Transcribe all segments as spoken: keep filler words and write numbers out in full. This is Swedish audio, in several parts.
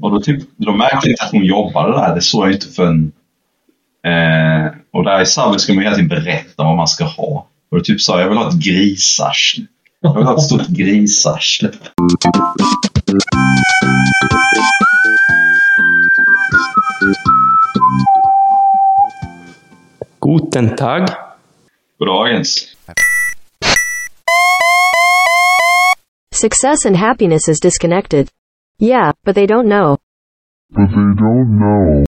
Och då, typ, då märkte jag inte att hon jobbade där. Det såg jag inte för en... Eh, och där i Subway ska man hela tiden berätta vad man ska ha. Och då typ sa jag vill ha ett grisarsle. Jag vill ha ett stort grisarsle. Guten Tag. Goddagens. Success and happiness is disconnected. Yeah, but they don't know. But they don't know.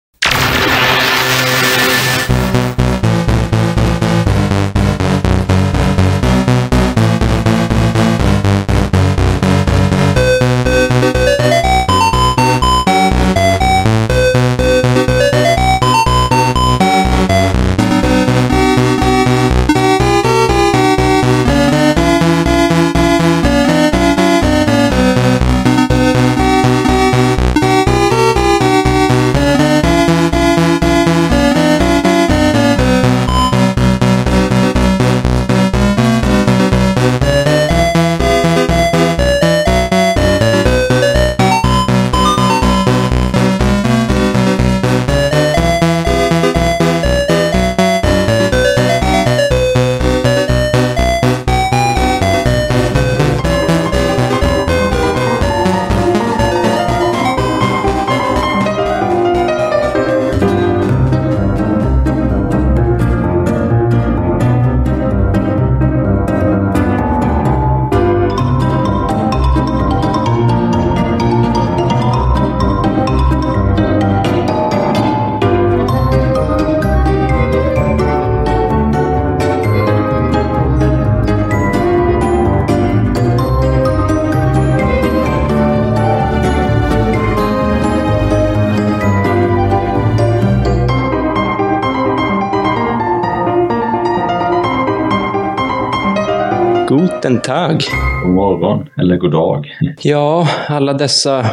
Guten Tag. God morgon, eller god dag. Ja, alla dessa,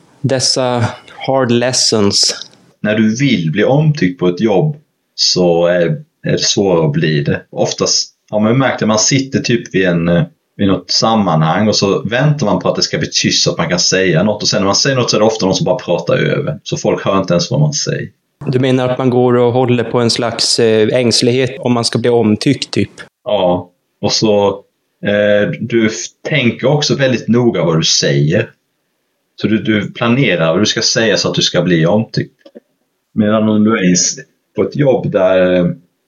dessa hard lessons. När du vill bli omtyckt på ett jobb så är, är det svårt att bli det. Oftast har man märkt att man sitter typ vid, en, vid något sammanhang och så väntar man på att det ska bli tyst så att man kan säga något. Och sen när man säger något så är det ofta någon som bara pratar över. Så folk hör inte ens vad man säger. Du menar att man går och håller på en slags eh, ängslighet om man ska bli omtyckt typ? Ja, och så eh, du tänker också väldigt noga vad du säger. Så du, du planerar vad du ska säga så att du ska bli omtyckt. Medan om du är på ett jobb där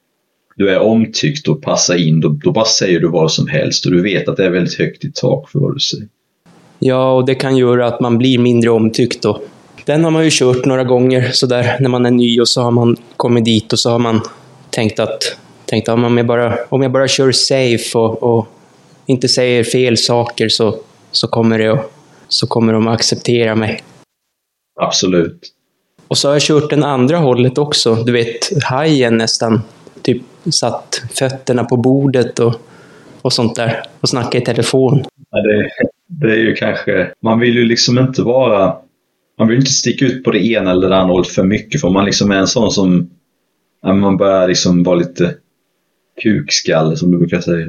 du är omtyckt och passar in, då, då bara säger du vad som helst och du vet att det är väldigt högt i tak för vad du säger. Ja, och det kan göra att man blir mindre omtyckt då. Den har man ju kört några gånger sådär när man är ny och så har man kommit dit och så har man tänkt att tänkt, om, jag bara, om jag bara kör safe och, och inte säger fel saker så, så, kommer det, så kommer de att acceptera mig. Absolut. Och så har jag kört den andra hållet också. Du vet, hajen nästan typ satt fötterna på bordet och, och sånt där och snackade i telefon. Ja, det, det är ju kanske, man vill ju liksom inte vara, man vill inte sticka ut på det ena eller det andra hållet för mycket, för man liksom är en sån som, man börjar liksom vara lite kukskalle som du brukar säga.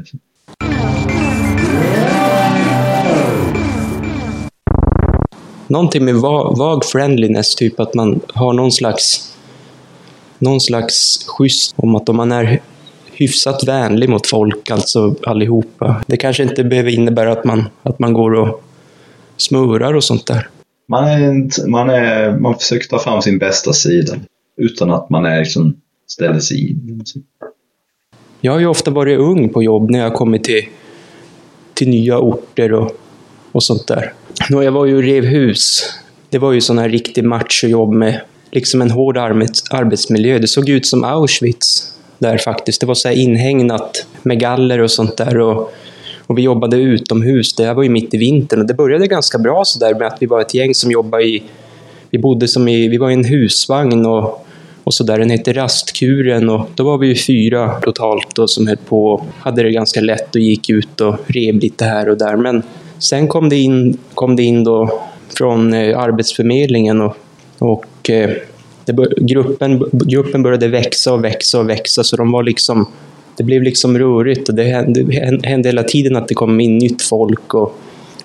Någonting med vag friendliness, typ att man har någon slags någon slags schysst om att om man är hyfsat vänlig mot folk, alltså allihopa. Det kanske inte behöver innebära att man, att man går och smörar och sånt där. Man, är, man, är, man försöker ta fram sin bästa sida utan att man är liksom ställer sig in. Jag har ju ofta varit ung på jobb när jag kommit till, till nya orter och, och sånt där. Nå, jag var ju rev hus. Det var ju sån här riktig machojobb med liksom en hård arbets, arbetsmiljö. Det såg ut som Auschwitz där faktiskt. Det var så här inhägnat med galler och sånt där. Och, och vi jobbade utomhus. Det här var ju mitt i vintern. Och det började ganska bra så där med att vi var ett gäng som jobbade i... Vi bodde som i... Vi var i en husvagn och... Och så där, den hette Rastkuren och då var vi ju fyra totalt då, som höll på och hade det ganska lätt och gick ut och rev lite här och där. Men sen kom det in, kom det in då från eh, Arbetsförmedlingen och, och eh, det bör, gruppen, gruppen började växa och växa och växa, så de var liksom, det blev liksom rörigt och det hände, hände hela tiden att det kom in nytt folk och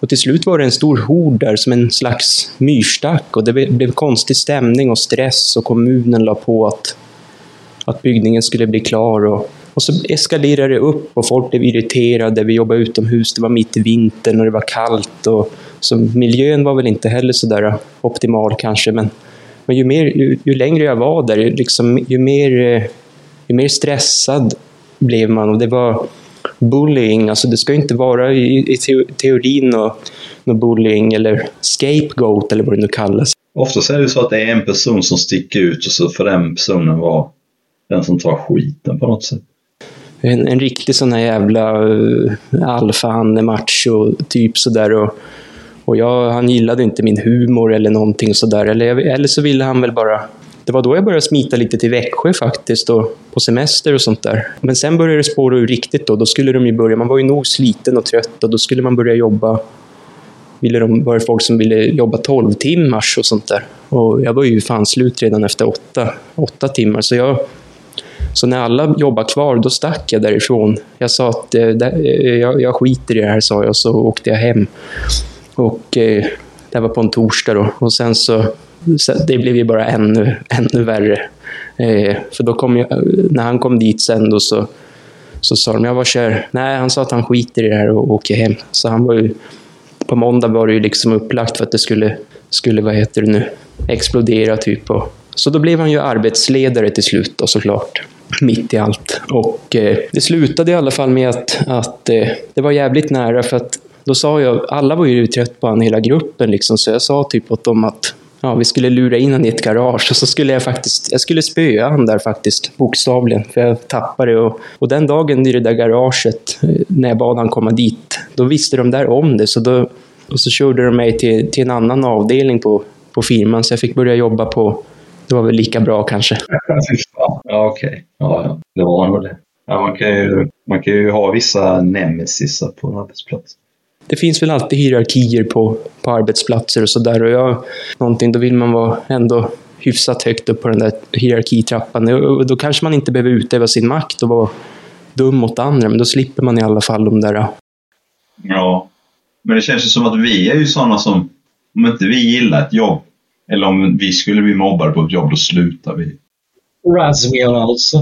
Och till slut var det en stor hord där som en slags myrstack. Och det blev konstig stämning och stress. Och kommunen la på att, att byggningen skulle bli klar. Och, och så eskalerade det upp och folk blev irriterade. Vi jobbade utomhus, det var mitt i vintern och det var kallt. Och, så miljön var väl inte heller så där optimal kanske. Men, men ju, mer, ju, ju längre jag var där, liksom, ju, mer, ju mer stressad blev man. Och det var bullying, alltså det ska inte vara i, i teorin och, och bullying eller scapegoat eller vad det nu kallas. Ofta är det så att det är en person som sticker ut och så för den personen var den som tar skiten på något sätt. En, en riktig sån här jävla uh, alfa-macho typ sådär och, och jag, han gillade inte min humor eller någonting sådär eller, eller så ville han väl bara. Det var då jag började smita lite till Växjö faktiskt och på semester och sånt där. Men sen började det spåra ur riktigt då. Då skulle de ju börja, man var ju nog sliten och trött och då skulle man börja jobba. Ville de, var det folk som ville jobba tolv timmars och sånt där. Och jag var ju fan slut redan efter åtta, åtta timmar. Så, jag, så när alla jobbade kvar, då stack jag därifrån. Jag sa att eh, där, jag, jag skiter i det här, sa jag, och så åkte jag hem. Och eh, det var på en torsdag då. Och sen så Så det blev ju bara ännu, ännu värre. Eh, för då kom jag, när han kom dit sen då så, så sa de, jag var kär. Nej, han sa att han skiter i det här och åker hem. Så han var ju, på måndag var det ju liksom upplagt för att det skulle, skulle vad heter det nu, explodera typ. Och, så då blev han ju arbetsledare till slut då, såklart. Mitt i allt. Och eh, det slutade i alla fall med att, att eh, det var jävligt nära för att då sa jag, alla var ju trött på han hela gruppen liksom. Så jag sa typ åt dem att ja, vi skulle lura in han i ett garage och så skulle jag faktiskt, jag skulle spöa han där faktiskt, bokstavligen, för jag tappade och, och den dagen i det där garaget, när jag bad han komma dit, då visste de där om det, så då, och så körde de mig till, till en annan avdelning på, på firman, så jag fick börja jobba på, det var väl lika bra kanske. Ja, okej. Okay. Ja, ja, det var nog det. Ja, man kan ju, man kan ju ha vissa nemesisar på en arbetsplats. Det finns väl alltid hierarkier på, på arbetsplatser och sådär. Och jag, någonting, då vill man vara ändå hyfsat högt upp på den där hierarkitrappan. Och då kanske man inte behöver utöva sin makt och vara dum mot andra. Men då slipper man i alla fall de där. Ja, men det känns ju som att vi är ju sådana som, om inte vi gillar ett jobb, eller om vi skulle bli mobbade på ett jobb, då slutar vi. Razmir alltså.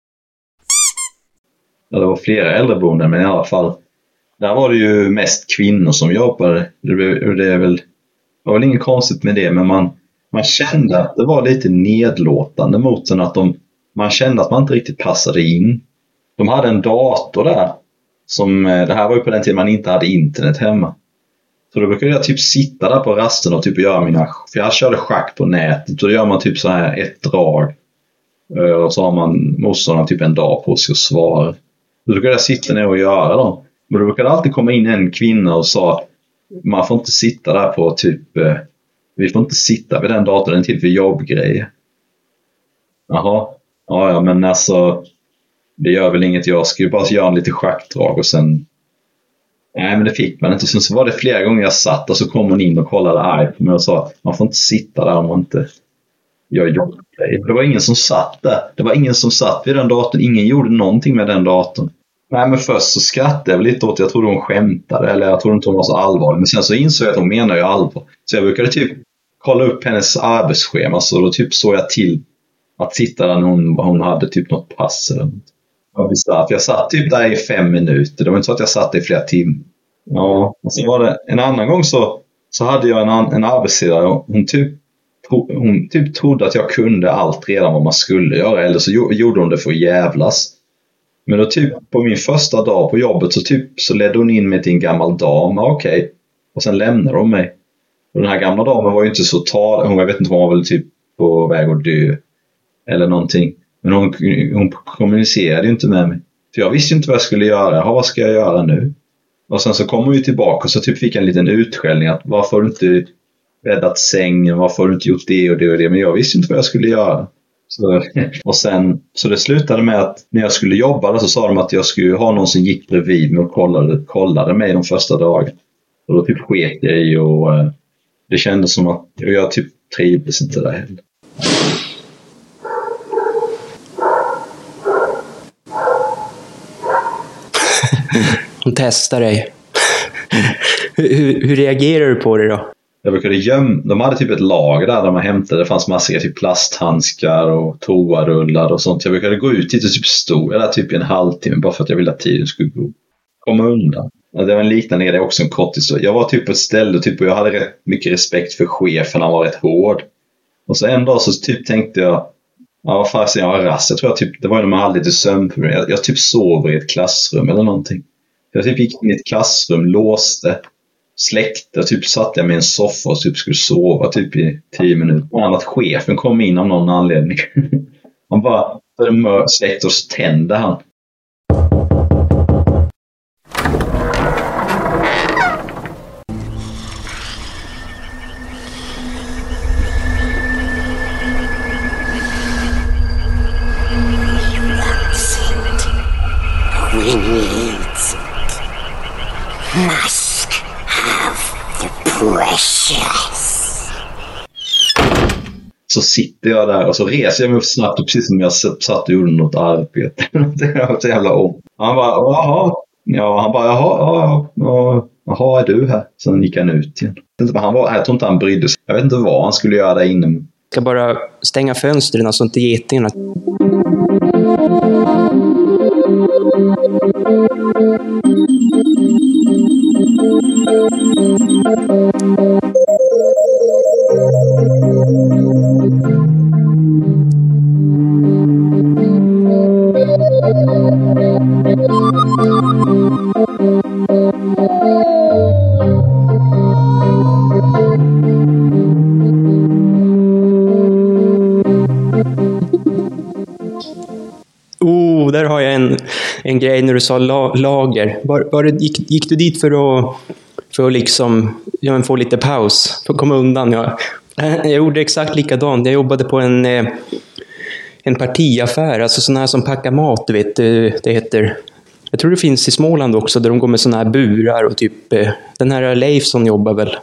Ja, det var flera äldreboenden, men i alla fall. Där var det ju mest kvinnor som jobbade. Det, det, är väl, det var väl inget konstigt med det, men man, man kände att det var lite nedlåtande mot den. Att de, man kände att man inte riktigt passade in. De hade en dator där. Som, det här var ju på den tiden man inte hade internet hemma. Så då brukade jag typ sitta där på rasten och typ göra mina... För jag körde schack på nätet. Och då gör man typ så här ett drag. Och så har man motståndaren typ en dag på sig att svara. Då brukade jag sitta ner och göra dem. Men då brukade alltid komma in en kvinna och sa, man får inte sitta där på typ, eh, vi får inte sitta vid den datorn, den till för jobbgrejer. Jaha, ja, ja, men alltså, det gör väl inget, jag ska ju bara göra en lite schackdrag och sen, nej men det fick man inte. Sen så var det flera gånger jag satt och så kom hon in och kollade arg på mig och sa, man får inte sitta där om man inte gör jobbgrejer. Det var ingen som satt där, det var ingen som satt vid den datorn, ingen gjorde någonting med den datorn. Nej, men först så skrattade jag lite åt, jag trodde hon skämtade eller jag trodde inte hon var så allvarlig. Men sen så insåg jag att hon menar ju allvar. Så jag brukade typ kolla upp hennes arbetsschema, så då typ såg jag till att sitta där när hon, hon hade typ något pass eller något. Jag satt typ där i fem minuter, det var inte så att jag satt där i flera timmar. Ja, och så var det en annan gång så, så hade jag en, en arbetsledare, hon typ, hon typ trodde att jag kunde allt redan vad man skulle göra, eller så gjorde hon det för att jävlas. Men då typ på min första dag på jobbet så typ så ledde hon in mig till en gammal dam. Okej. Okay. Och sen lämnade hon mig. Och den här gamla damen var ju inte så tal. Hon, jag vet inte, hon var väl typ på väg att dö. Eller någonting. Men hon, hon kommunicerade ju inte med mig. För jag visste ju inte vad jag skulle göra. Ja, vad ska jag göra nu? Och sen så kom hon ju tillbaka och så typ fick jag en liten utskällning. Att varför har du inte räddat sängen? Varför har du inte gjort det och det och det? Men jag visste inte vad jag skulle göra. Så, och sen, så det slutade med att när jag skulle jobba så sa de att jag skulle ha någon som gick bredvid mig och kollade, kollade mig de första dagarna. Och då typ sket jag i och eh, det kändes som att jag typ trivdes inte där heller. Hon testar dig. hur, hur reagerar du på det då? Jag brukade gömma, de hade typ ett lager där, där man hämtade, det fanns massor av typ plasthandskar och toarullar och sånt. Jag brukade gå ut dit och typ stå, eller typ en halvtimme bara för att jag ville att tiden skulle gå. Komma undan. Ja, det var en liknande, det är också en kort historia. Jag var typ på ett ställe typ, och jag hade rätt mycket respekt för chefen, han var rätt hård. Och så en dag så typ tänkte jag, ja vad fan, jag var rast. Jag tror jag typ, det var ju när man hade lite sömnproblem. Jag, jag typ sover i ett klassrum eller någonting. Jag typ gick in i ett klassrum, låste, släckte och typ satt jag med en soffa och typ skulle sova typ i tio minuter. Och att chefen kom in av någon anledning. Han bara släckte och så tände han. We needs it. Must have the precious. Så sitter jag där och så reser jag mig upp snabbt och precis som jag satt och gjorde något arbete. Det var så jävla om. Han bara, jaha. Ja, han bara, jaha, ja, ja, jaha, är du här? Sen gick han ut igen. Han var, jag tror inte han brydde sig. Jag vet inte vad han skulle göra där inne. Jag ska bara stänga fönstren så inte getingarna. Oh, där har jag en, en grej när du sa la, lager. Var, var det, gick, gick du dit för att, för att liksom, ja, men få lite paus? För att komma undan? Ja. Jag gjorde exakt likadant. Jag jobbade på en, en partiaffär. Alltså sådana här som packar mat, du vet. Det heter... Jag tror det finns i Småland också, där de går med sådana här burar och typ... Den här Leif som jobbar väl...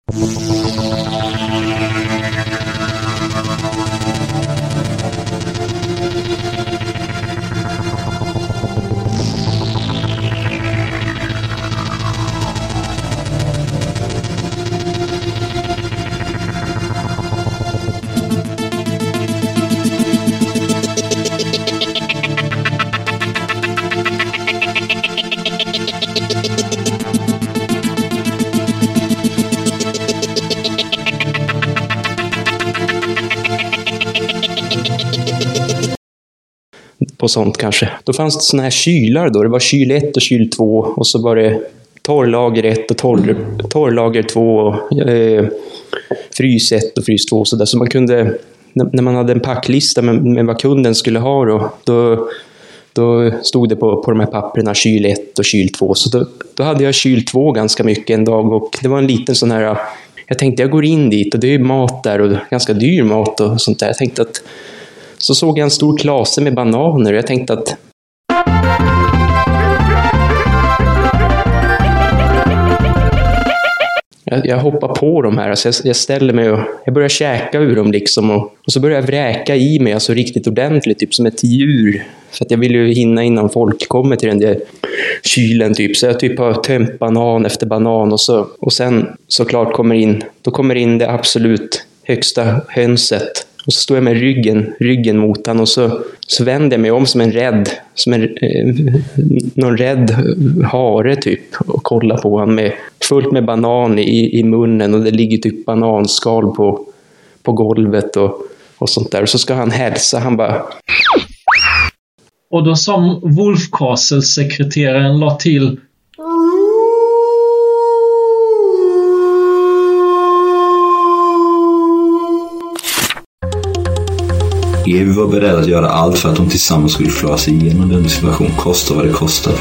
på sånt kanske. Då fanns det såna här kylar då. Det var kyl ett och kyl två och så var det torrlager ett och torr, torrlager två och eh, frys ett och frys två. Så, där. Så man kunde, när man hade en packlista med, med vad kunden skulle ha då, då, då stod det på, på de här papperna kyl ett och kyl två. Så då, då hade jag kyl två ganska mycket en dag och det var en liten sån här... Jag tänkte jag går in dit och det är mat där och ganska dyr mat och sånt där. Jag tänkte att så såg jag en stor klase med bananer och jag tänkte att jag, jag hoppar på dem här. Alltså jag, jag ställer mig och jag börjar käka ur dem liksom och, och så börjar jag vräka i mig alltså riktigt ordentligt, typ som ett djur. För att jag vill ju hinna innan folk kommer till den där kylen typ. Så jag typ har tömt banan efter banan och så och sen såklart kommer in, då kommer in det absolut högsta hönset. Och så står jag med ryggen, ryggen mot han och så, så vänder jag mig om som en rädd, som en, eh, någon rädd hare typ och kollar på han med fullt med banan i, i munnen och det ligger typ bananskal på, på golvet och, och sånt där. Och så ska han hälsa, han bara... Och då som Wolf Castle-sekreteraren la till: Evi var beredd att göra allt för att de tillsammans skulle klara sig igenom den situation, kosta vad det kostade.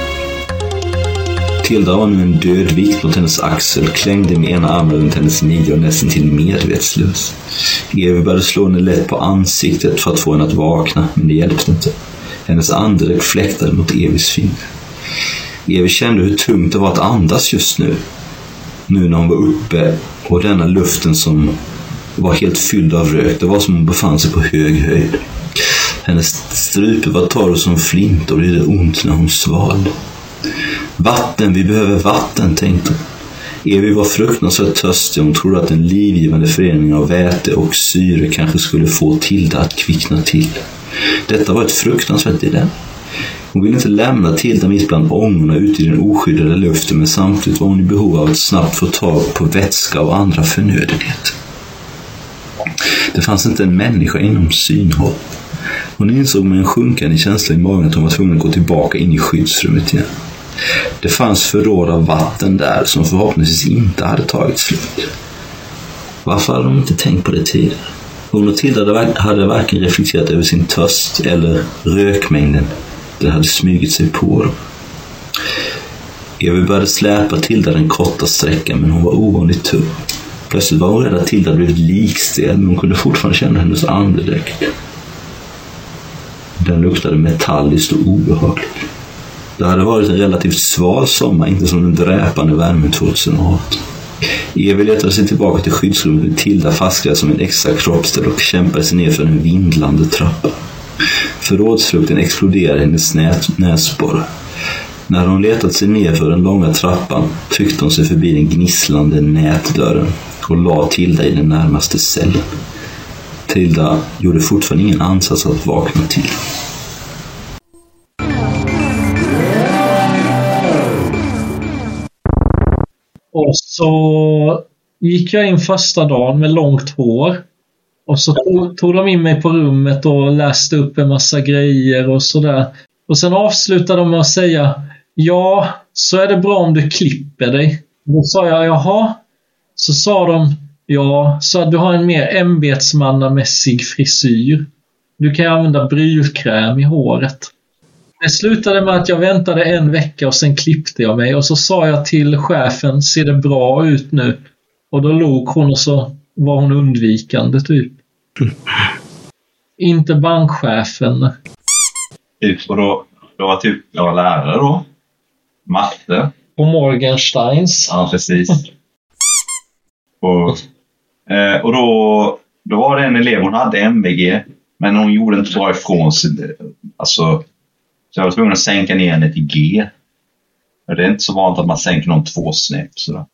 Tilda var nu en död vikt mot hennes axel, klängde med ena armen runt hennes midja och nästan till medvetslös. Evi började slå henne lätt på ansiktet för att få henne att vakna, men det hjälpte inte. Hennes andedräkt fläktade mot Evis finger. Evi kände hur tungt det var att andas just nu. Nu när hon var uppe och denna luften som var helt fylld av rök. Det var som hon befann sig på hög höjd. Hennes strupe var torr som flint och det gjorde ont när hon svalde. Vatten, vi behöver vatten, tänkte hon. Evi var fruktansvärt törstig och hon trodde att en livgivande förening av väte och syre kanske skulle få Tilda att kvickna till. Detta var ett fruktansvärt dilemma. Hon ville inte lämna Tilda mitt bland ångorna ute i den oskyddade luften, men samtidigt var hon i behov av att snabbt få tag på vätska och andra förnödenheter. Det fanns inte en människa inom synhåll. Hon insåg med en sjunkande känsla i magen att hon var tvungen att gå tillbaka in i skyddsrummet igen. Det fanns förråd av vatten där som förhoppningsvis inte hade tagit slut. Varför hade de inte tänkt på det tidigare? Hon och Tilda hade varken reflekterat över sin törst eller rökmängden. Den hade smugit sig på dem. Evi började släpa Tilda den korta sträckan, men hon var ovanligt tung. Plötsligt var hon rädd att Tilda blivit likstel, men hon kunde fortfarande känna hennes andedräkt. Den luktade metalliskt och obehagligt. Det hade varit en relativt sval sommar, inte som den dräpande värmen tjugohundraarton. Evi letade sig tillbaka till skyddsrummet med Tilda fastklad som en extra kroppsdel och kämpade sig ner för en vindlande trappa. Förrådslukten exploderade hennes nät- näsborre. När hon letat sig ner för den långa trappan tryckte hon sig förbi den gnisslande nätdörren och la Tilda i den närmaste cellen. Tilda gjorde fortfarande ingen ansats att vakna till. Och så gick jag in första dagen med långt hår. Och så tog, tog de in mig på rummet och läste upp en massa grejer och sådär. Och sen avslutade de med att säga: ja, så är det bra om du klipper dig. Då sa jag: jaha. Så sa de: ja, så att du har en mer ämbetsmannamässig frisyr. Du kan använda brylkräm i håret. Det slutade med att jag väntade en vecka och sen klippte jag mig. Och så sa jag till chefen: ser det bra ut nu? Och då log hon och så var hon undvikande typ. Inte bankchefen. Typ, och då, då var typ, jag var lärare då. Matte. På Morgensteins. Ja, precis. och eh, och då, då var det en elev, hon hade M V G. Men hon gjorde inte bra ifrån sig. Alltså, så jag var tvungen att sänka ner henne till G. Och det är inte så vanligt att man sänker någon två snäpp sådär.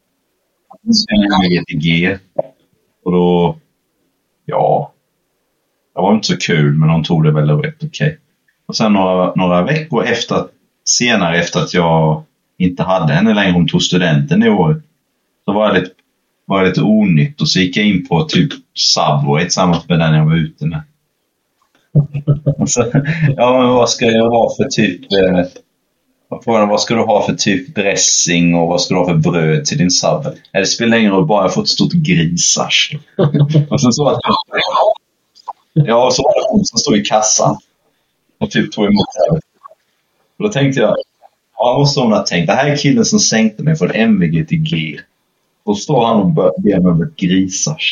M V G till G. Och då, ja, det var inte så kul, men hon tog det väl rätt okej. Okay. Och sen några, några veckor efter, senare efter att jag inte hade henne längre, hon tog studenten i år, så var jag lite, var jag lite onytt och så gick jag in på typ Subway tillsammans med den jag var ute med. Så, ja, men vad ska jag ha för typ eh, vad ska du ha för typ dressing och vad ska du ha för bröd till din Subway? Det spelar ingen roll, bara jag får ett stort grisars. Och sen så att ja, så var det hon som stod i kassan och typ tog emot det. Och då tänkte jag, ja, vad så hon har tänkt, det här är killen som sänkte mig från M V G till G. Och står han och ber mig om ett grisars.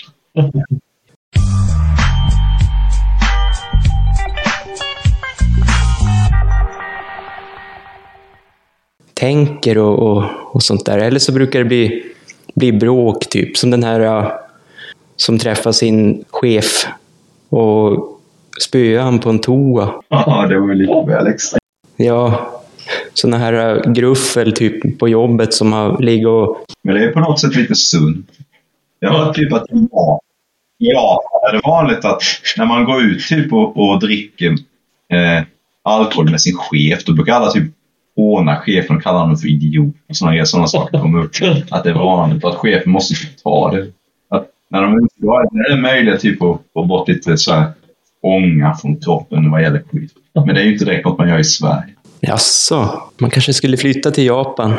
Tänker och, och, och sånt där. Eller så brukar det bli, bli bråk typ. Som den här uh, som träffar sin chef och spöar han på en toa. Ja, det var ju lite väl extra. Ja, såna här uh, gruffel typ på jobbet som har ligger och... Men det är på något sätt lite sunt. Jag har typ att ja, ja, det är vanligt att när man går ut typ och, och dricker eh, alkohol med sin chef, då brukar alla typ håna chefen och kalla honom för idiot och sådana, sådana saker kommer upp. Att det är vanligt att chefen måste ta det. Att när de inte då är det möjligt typ att få bort lite så här ånga från kroppen vad gäller skit. Men det är ju inte direkt något man gör i Sverige. Jaså, man kanske skulle flytta till Japan.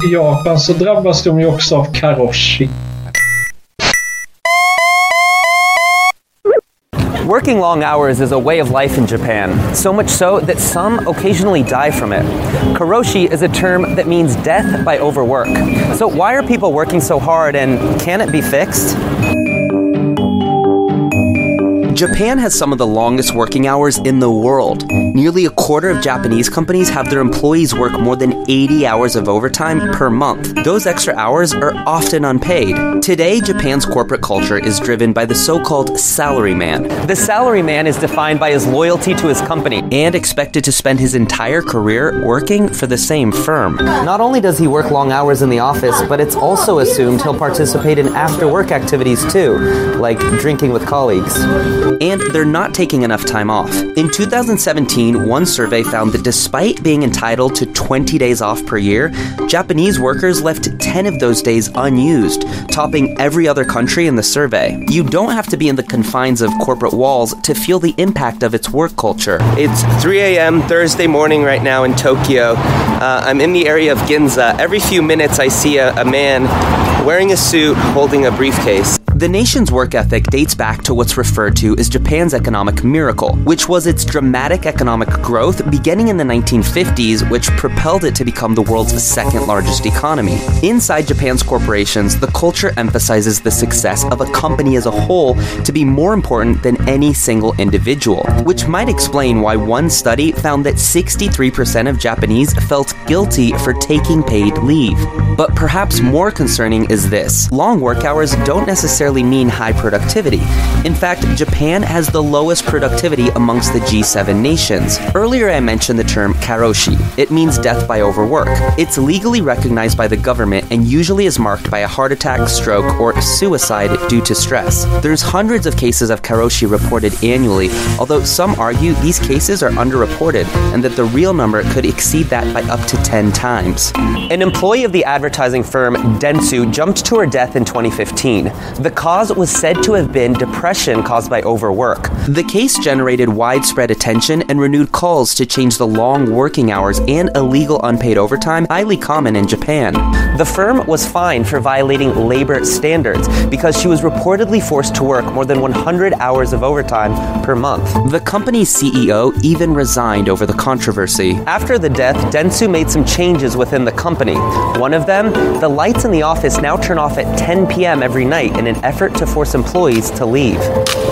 till Japan så drabbas de ju också av karoshi. Working long hours is a way of life in Japan, so much so that some occasionally die from it. Karoshi is a term that means death by overwork. So why are people working so hard, and can it be fixed? Japan has some of the longest working hours in the world. Nearly a quarter of Japanese companies have their employees work more than eighty hours of overtime per month. Those extra hours are often unpaid. Today, Japan's corporate culture is driven by the so-called salaryman. The salaryman is defined by his loyalty to his company and expected to spend his entire career working for the same firm. Not only does he work long hours in the office, but it's also assumed he'll participate in after-work activities too, like drinking with colleagues. And they're not taking enough time off. In two thousand seventeen, one survey found that despite being entitled to twenty days off per year, Japanese workers left ten of those days unused, topping every other country in the survey. You don't have to be in the confines of corporate walls to feel the impact of its work culture. It's three a.m. Thursday morning right now in Tokyo. Uh, I'm in the area of Ginza. Every few minutes I see a, a man wearing a suit holding a briefcase. The nation's work ethic dates back to what's referred to as Japan's economic miracle, which was its dramatic economic growth beginning in the nineteen fifties, which propelled it to become the world's second largest economy. Inside Japan's corporations, the culture emphasizes the success of a company as a whole to be more important than any single individual, which might explain why one study found that sixty-three percent of Japanese felt guilty for taking paid leave. But perhaps more concerning is this: long work hours don't necessarily mean high productivity. In fact, Japan has the lowest productivity amongst the G seven nations. Earlier I mentioned the term karoshi. It means death by overwork. It's legally recognized by the government and usually is marked by a heart attack, stroke, or suicide due to stress. There's hundreds of cases of karoshi reported annually, although some argue these cases are underreported and that the real number could exceed that by up to ten times. An employee of the advertising firm Dentsu jumped to her death in twenty fifteen. The cause was said to have been depression caused by overwork. The case generated widespread attention and renewed calls to change the long working hours and illegal unpaid overtime highly common in Japan. The firm was fined for violating labor standards because she was reportedly forced to work more than one hundred hours of overtime per month. The company's C E O even resigned over the controversy. After the death, Dentsu made some changes within the company. One of them, the lights in the office now turn off at ten p.m. every night in an effort to force employees to leave.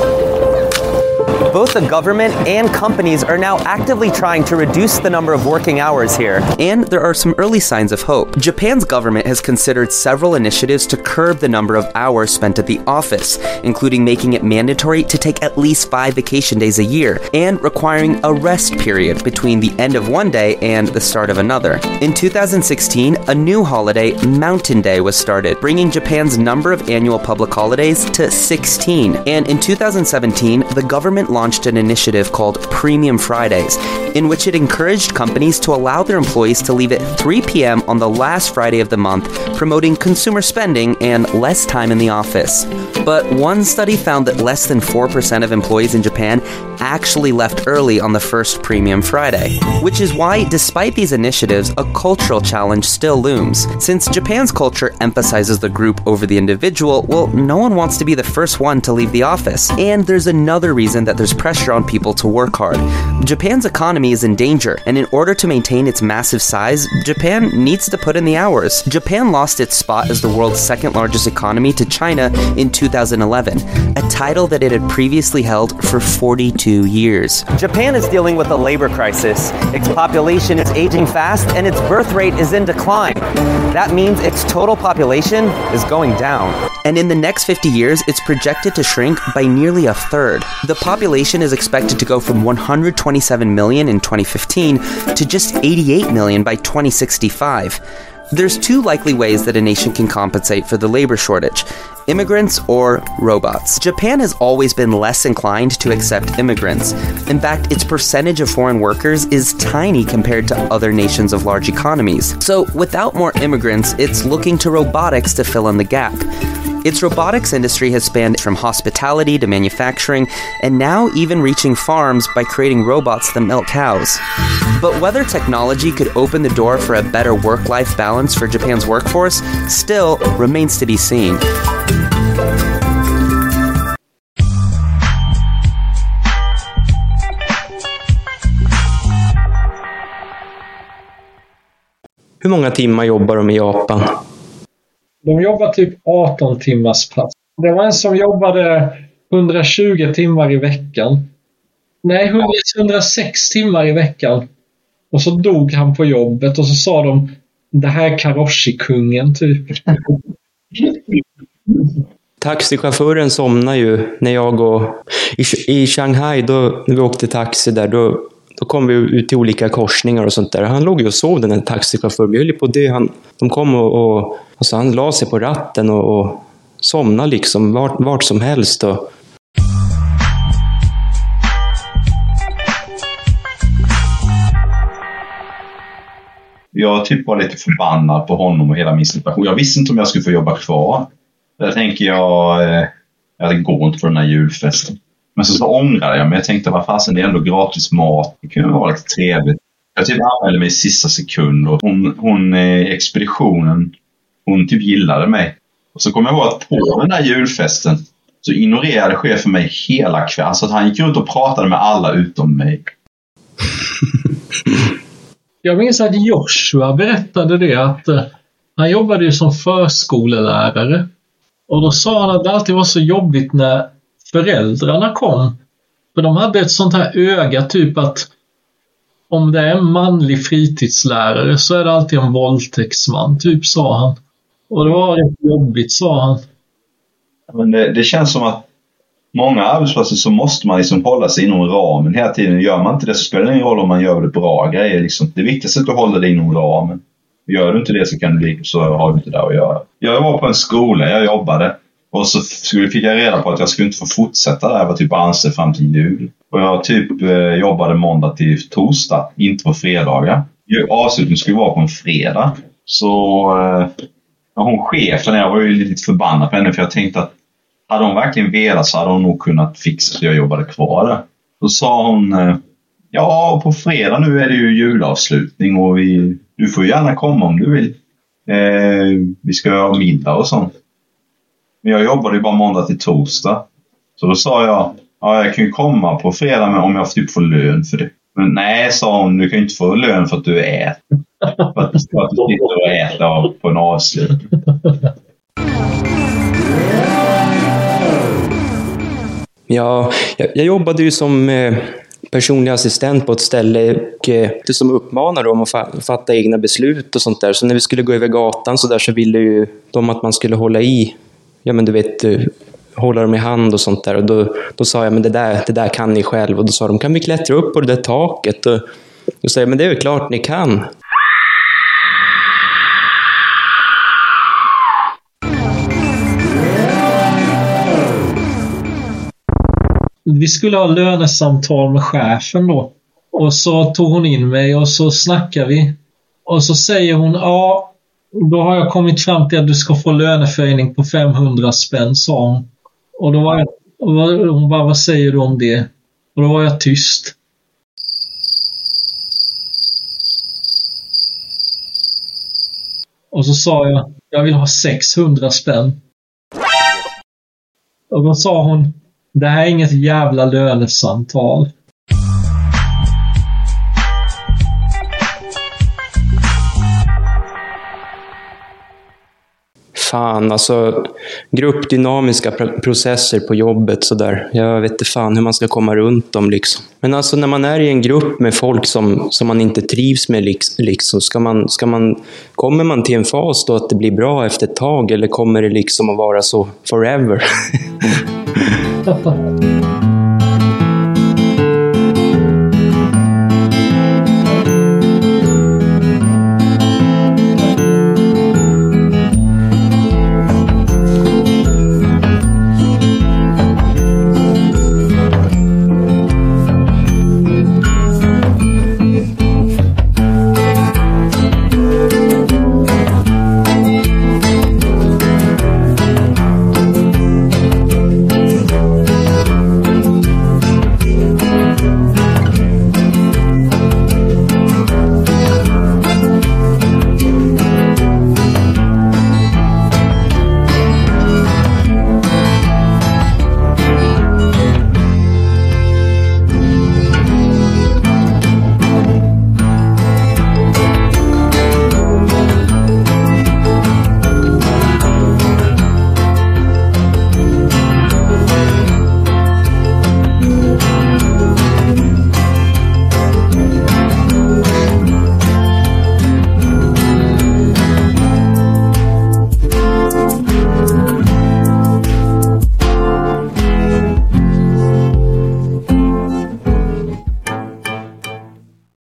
Both the government and companies are now actively trying to reduce the number of working hours here. And there are some early signs of hope. Japan's government has considered several initiatives to curb the number of hours spent at the office, including making it mandatory to take at least five vacation days a year and requiring a rest period between the end of one day and the start of another. In two thousand sixteen, a new holiday, Mountain Day, was started, bringing Japan's number of annual public holidays to sixteen. And in two thousand seventeen, the government launched an initiative called Premium Fridays, in which it encouraged companies to allow their employees to leave at three p.m. on the last Friday of the month, promoting consumer spending and less time in the office. But one study found that less than four percent of employees in Japan actually left early on the first Premium Friday, which is why, despite these initiatives, a cultural challenge still looms. Since Japan's culture emphasizes the group over the individual, well, no one wants to be the first one to leave the office. And there's another reason that there's pressure on people to work hard. Japan's economy is in danger, and in order to maintain its massive size, Japan needs to put in the hours. Japan lost its spot as the world's second largest economy to China in two thousand eleven, a title that it had previously held for forty-two years. Japan is dealing with a labor crisis. Its population is aging fast, and its birth rate is in decline. That means its total population is going down. And in the next fifty years, it's projected to shrink by nearly a third. The population is expected to go from one hundred twenty-seven million in twenty fifteen to just eighty-eight million by twenty sixty-five. There's two likely ways that a nation can compensate for the labor shortage: immigrants or robots. Japan has always been less inclined to accept immigrants. In fact, its percentage of foreign workers is tiny compared to other nations of large economies. So, without more immigrants, it's looking to robotics to fill in the gap. Its robotics industry has spanned from hospitality to manufacturing, and now even reaching farms by creating robots that milk cows. But whether technology could open the door for a better work-life balance for Japan's workforce still remains to be seen. Hur många timmar jobbar de i Japan? De jobbar typ arton timmars pass. Det var en som jobbade hundratjugo timmar i veckan. Nej, hundrasex timmar i veckan. Och så dog han på jobbet och så sa de, det här är Karoshi-kungen typ. Taxichauffören somnar ju när jag och i, i Shanghai då när vi åkte taxi där då Då kom vi ut till olika korsningar och sånt där. Han låg ju och sov, den här taxichauffören. Vi höll på det. Han, de kom och, och alltså han la sig på ratten och, och somnade liksom vart, vart som helst. Och... Jag typ var lite förbannad på honom och hela min situation. Jag visste inte om jag skulle få jobba kvar. Där tänker jag, eh, jag det går inte för den här julfesten. Men så, så ångrade jag mig. Jag tänkte, vad fasen, det är ändå gratis mat. Det kunde vara lite trevligt. Jag typ anmälde mig i sista sekund. Och hon, hon i expeditionen, hon typ gillade mig. Och så kom jag ihåg att på den där julfesten så ignorerade chefen mig hela kvällen. Så att han gick runt och pratade med alla utom mig. Jag minns att Joshua berättade det. Att uh, han jobbade ju som förskolelärare. Och då sa han att det alltid var så jobbigt när föräldrarna kom. För de hade ett sånt här öga typ att om det är en manlig fritidslärare så är det alltid en våldtäktsman typ, sa han. Och det var rätt jobbigt, sa han. Men det, det känns som att många arbetsplatser så måste man liksom hålla sig inom ramen hela tiden. Gör man inte det så spelar det ingen roll om man gör det bra grejer. Liksom. Det viktigaste är att du håller dig inom ramen. Gör du inte det så, kan du bli, så har du inte där att göra. Jag var på en skola, jag jobbade. Och så skulle, fick jag reda på att jag skulle inte få fortsätta där. Jag var typ anställd fram till jul. Och jag typ eh, jobbade måndag till torsdag, inte på fredagar. Avslutningen skulle vara på en fredag. Så eh, hon chefen, jag var ju lite förbannad på henne. För jag tänkte att hade hon verkligen velat så hade hon nog kunnat fixa så jag jobbade kvar där. Då sa hon, eh, ja på fredag nu är det ju julavslutning. Och vi, du får gärna komma om du vill. Eh, vi ska ha middag och sånt. Men jag jobbade ju bara måndag till torsdag. Så då sa jag, ja jag kan ju komma på fredag men om jag typ får lön för det. Men nej, sa hon, du kan ju inte få lön för att du äter. För att du sitter och äter på en avslut. Ja, jag, jag jobbade ju som eh, personlig assistent på ett ställe och eh, som uppmanade dem att fa- fatta egna beslut och sånt där. Så när vi skulle gå över gatan så där så ville ju de att man skulle hålla i, ja men du vet, hålla dem i hand och sånt där. Och då, då sa jag, men det där, det där kan ni själv. Och då sa de, kan vi klättra upp på det där taket? Och då sa jag, men det är ju klart ni kan. Vi skulle ha lönesamtal med chefen då. Och så tog hon in mig och så snackade vi. Och så säger hon, ja, då har jag kommit fram till att du ska få löneförhöjning på femhundra spänn, sa hon. Och då var jag, och hon bara, vad säger du om det? Och då var jag tyst. Och så sa jag, jag vill ha sexhundra spänn. Och då sa hon, det här är inget jävla lönesamtal. Fan, alltså gruppdynamiska pr- processer på jobbet så där. Jag vet inte fan hur man ska komma runt dem liksom. Men alltså när man är i en grupp med folk som, som man inte trivs med liksom, ska man, ska man, kommer man till en fas då att det blir bra efter ett tag eller kommer det liksom att vara så forever?